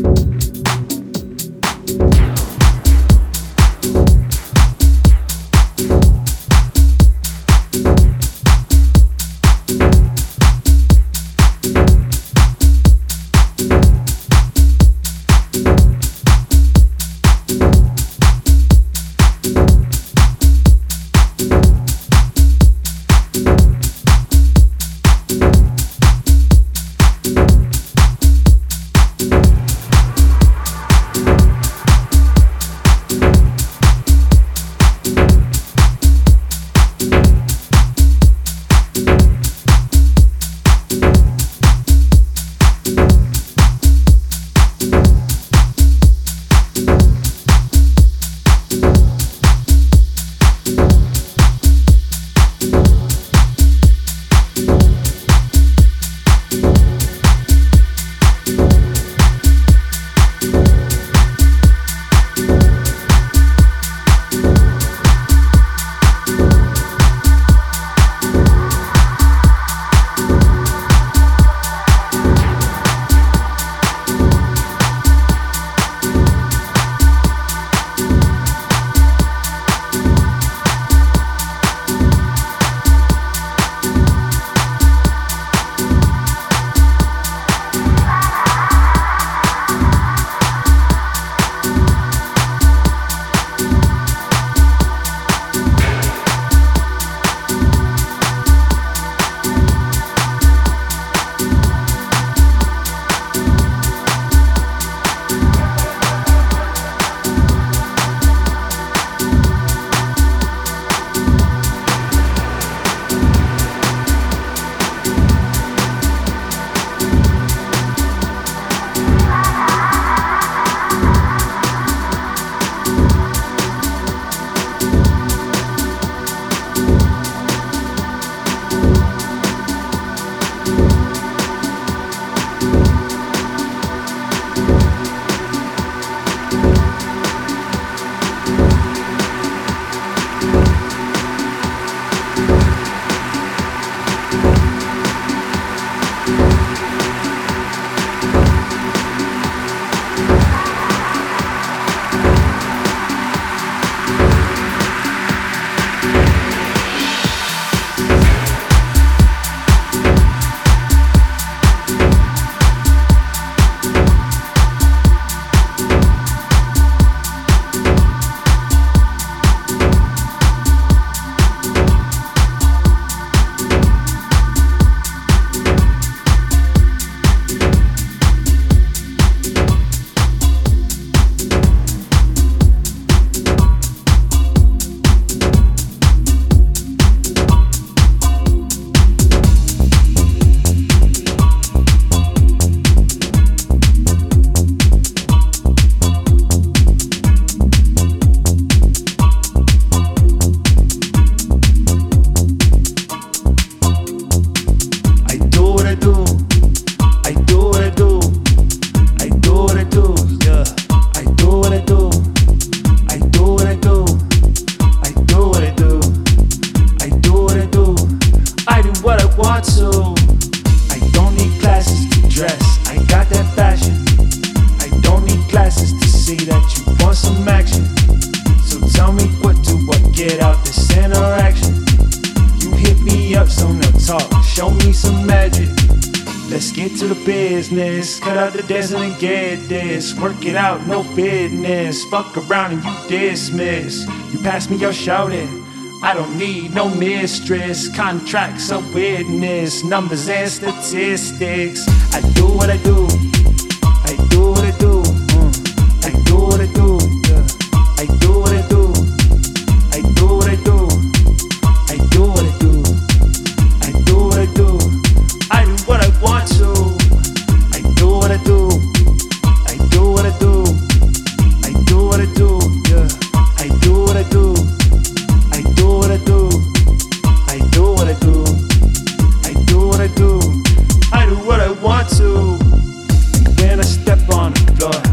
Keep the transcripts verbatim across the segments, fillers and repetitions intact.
business. Cut out the dancing and get this. Work it out, no fitness. Fuck around and you dismiss. You pass me your shouting. I don't need no mistress. Contracts a witness. Numbers and statistics. I do what I do. I do what I do. Mm. I do what I do. Yeah. I do what I do. I do what I do. I do what I do. I do what I do. I do what I want to. I do what I do. I do what I do. I do what I do. Yeah. I do what I do. I do what I do. I do what I do. I do what I do. I do what I want to. When I step on the floor,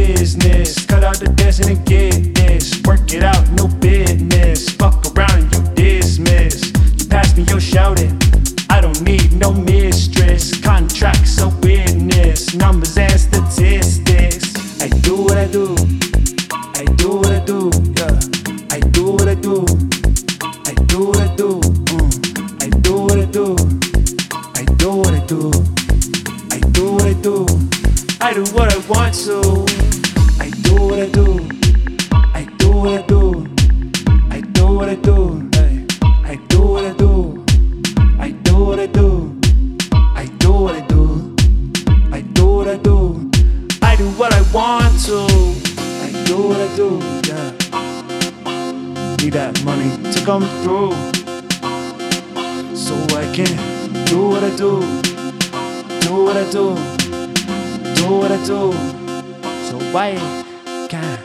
business. Cut out the dancing and get this. Work it out, no business. Fuck around and you dismiss. You pass me your shouting. I don't need no mistress. Contracts a witness. Numbers and statistics. I do what I do. I do what I do. Yeah. I do what I do. I do what I do. Mm. I do what I do. I do what I do. I do what I do. I do what I want to. I do what I do. I do what I do. I do what I do. Hey. I do what I do. I do what I do. I do what I do. I do what I do. I do what I want to. I do what I do. Yeah. Need that money to come through, so I can do what I do. Do what I do. Do what I do. So I can.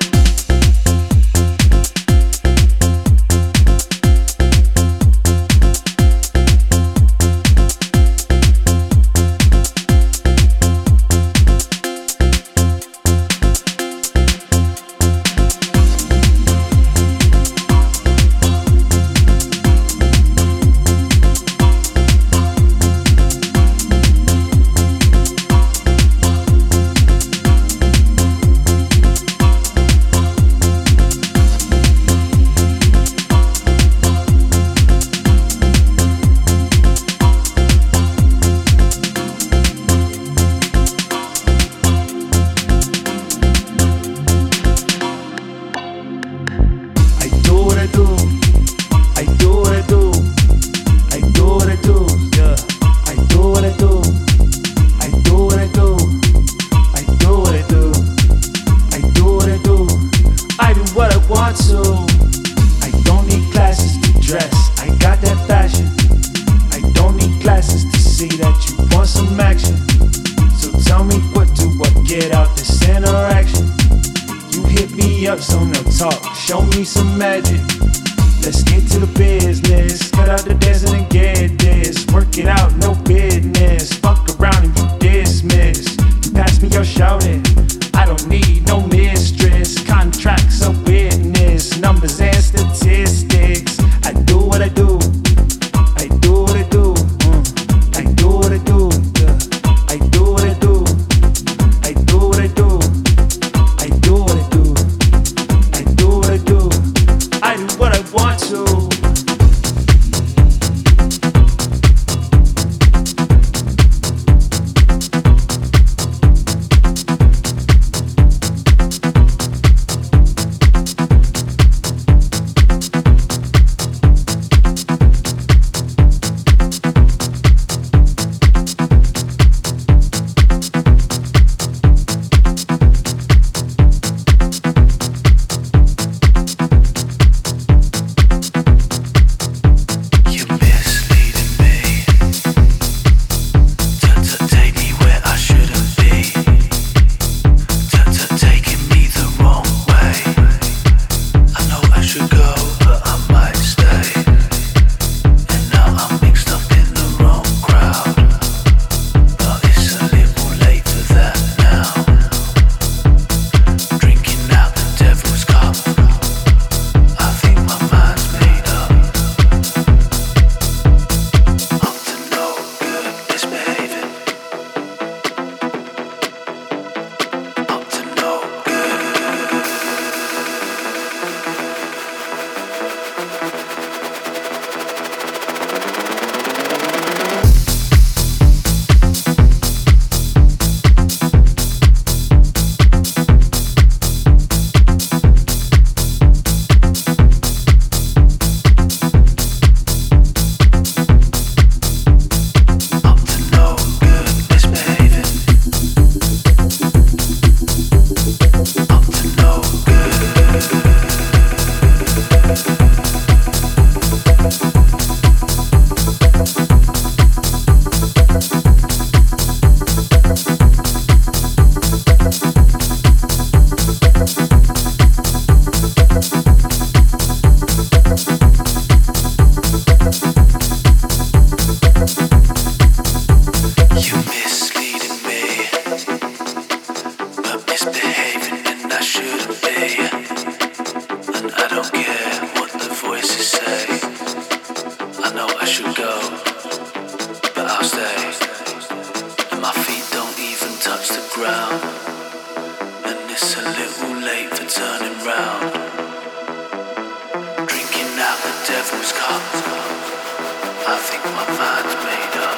late for turning round. Drinking out the devil's cup. I think my mind's made up.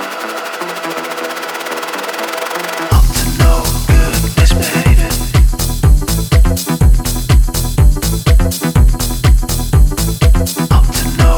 Up to no good, misbehaving. Up to no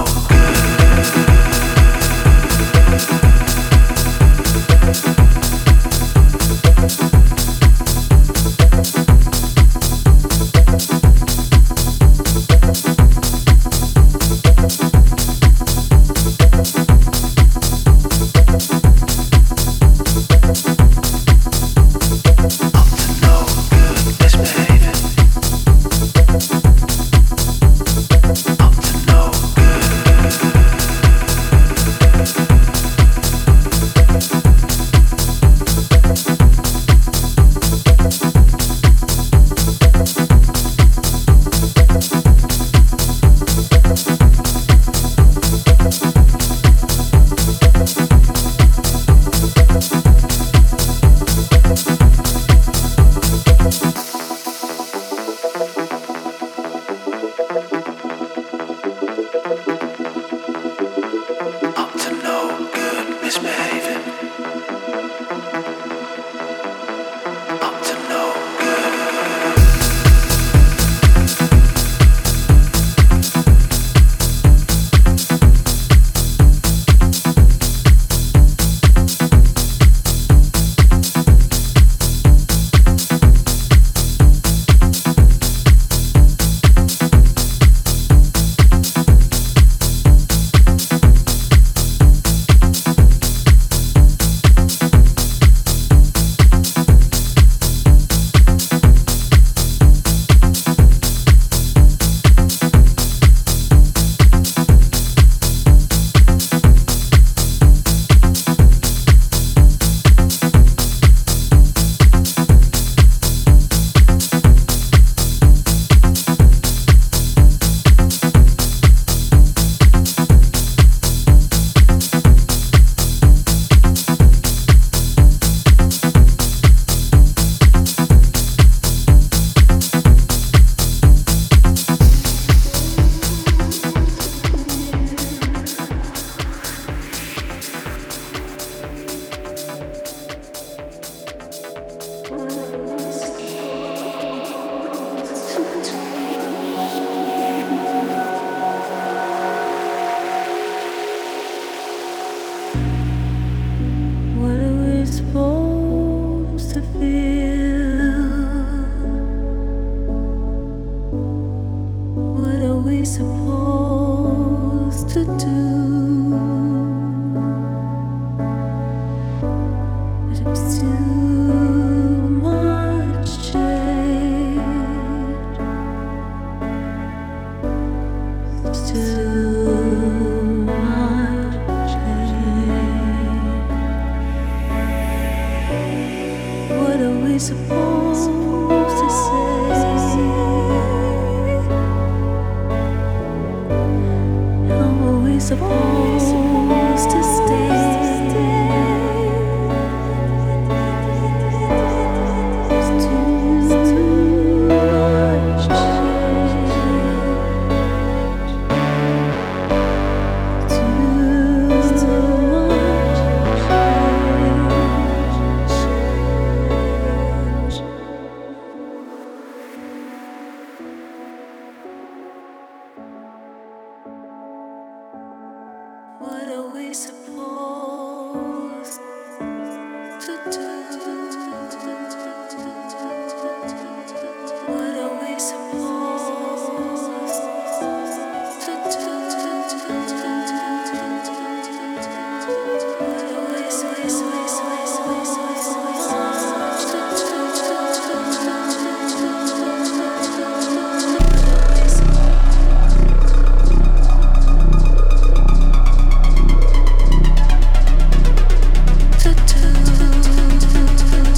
to do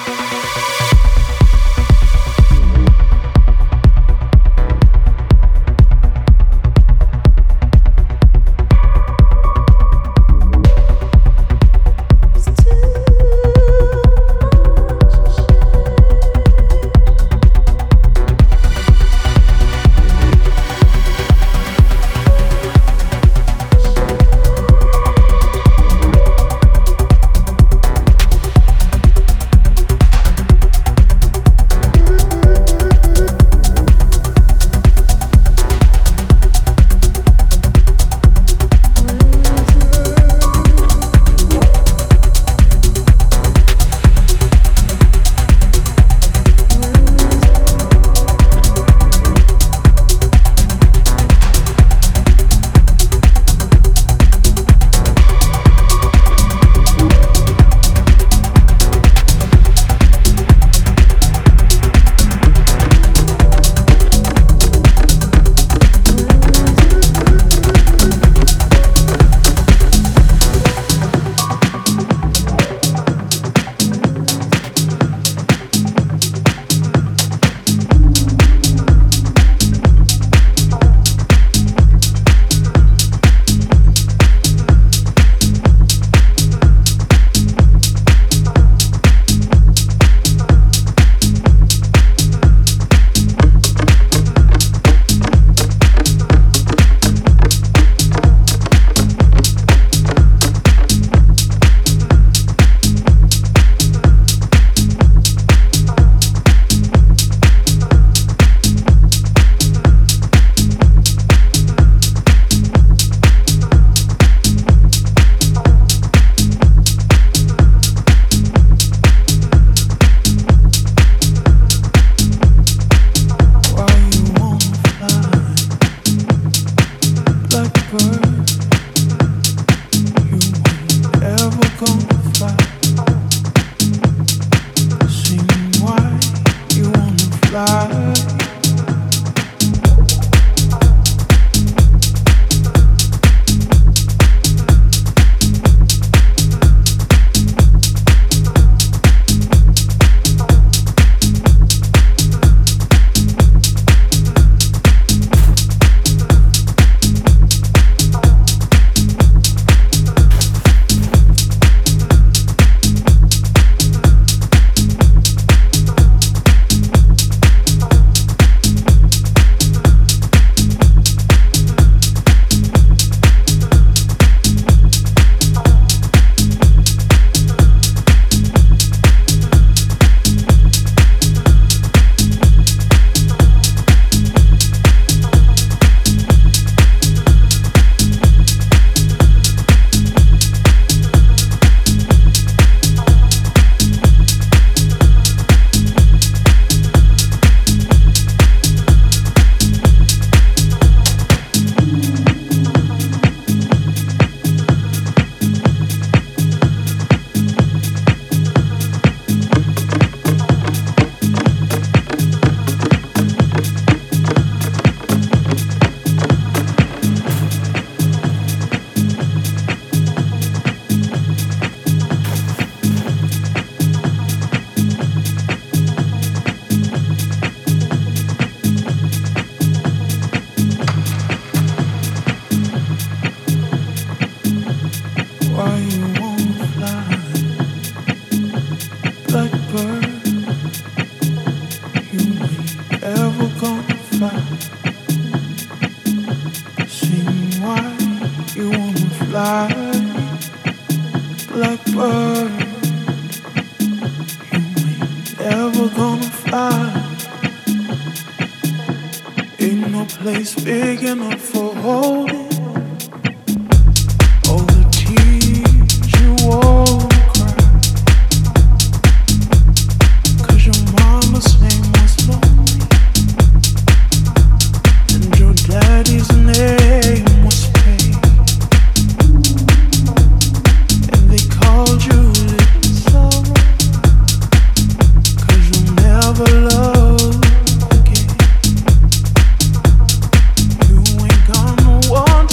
You ain't got no one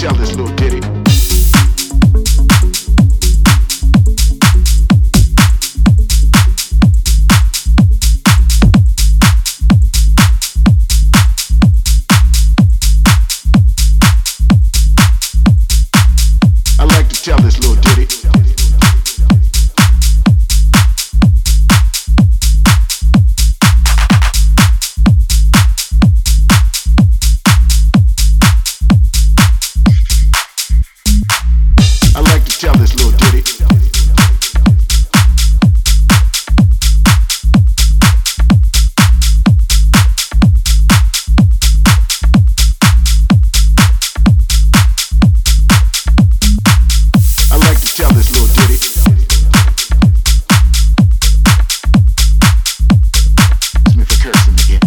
tell this little ditty. I like to tell this little ditty. I like to tell this little ditty. I like to tell this little ditty. Excuse me for cursing again.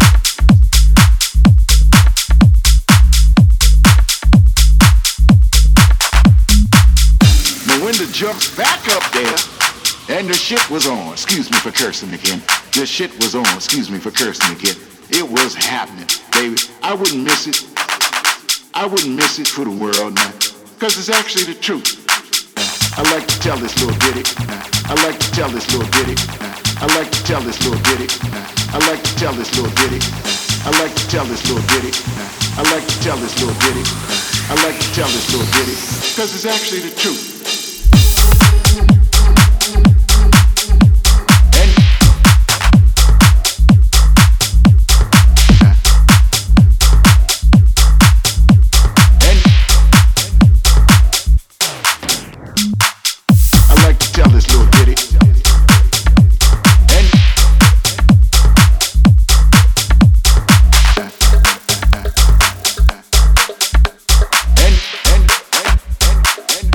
Melinda jumps back up there, and the shit was on. Excuse me for cursing again. The shit was on. Excuse me for cursing again. It was happening, baby. I wouldn't miss it. I wouldn't miss it for the world, man. Cause it's actually the truth. I like to tell this little ditty. I like to tell this little ditty. I like to tell this little ditty. I like to tell this little ditty. I like to tell this little ditty. I like to tell this little ditty. I like to tell this little ditty. Cause it's actually the truth. Tell this little ditty. And and and and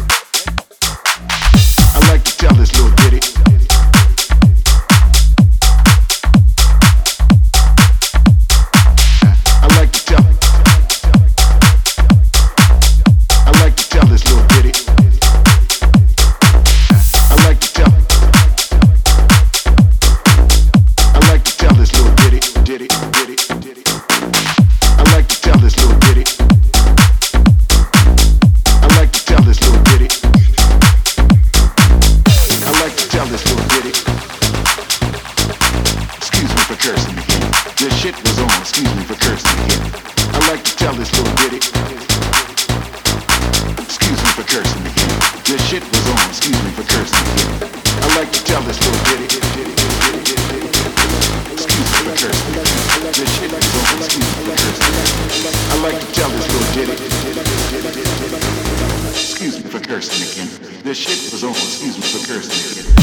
I like to tell this little ditty. I like to tell. I like to tell this little ditty. I like to tell. I like to tell this little ditty, ditty, ditty, ditty. I like to tell this little ditty. I like to tell this little ditty. I like to tell this little ditty. Excuse me for cursing again. This shit was on. Excuse me for cursing again. I like to tell this little ditty. Excuse me for cursing again. This shit was on. Excuse me for cursing again. I like to tell this little ditty. Excuse me for cursing again. This shit was on. Excuse me for cursing again. I like to tell this little ditty. Excuse me for cursing again. This shit was on. Excuse me for cursing again.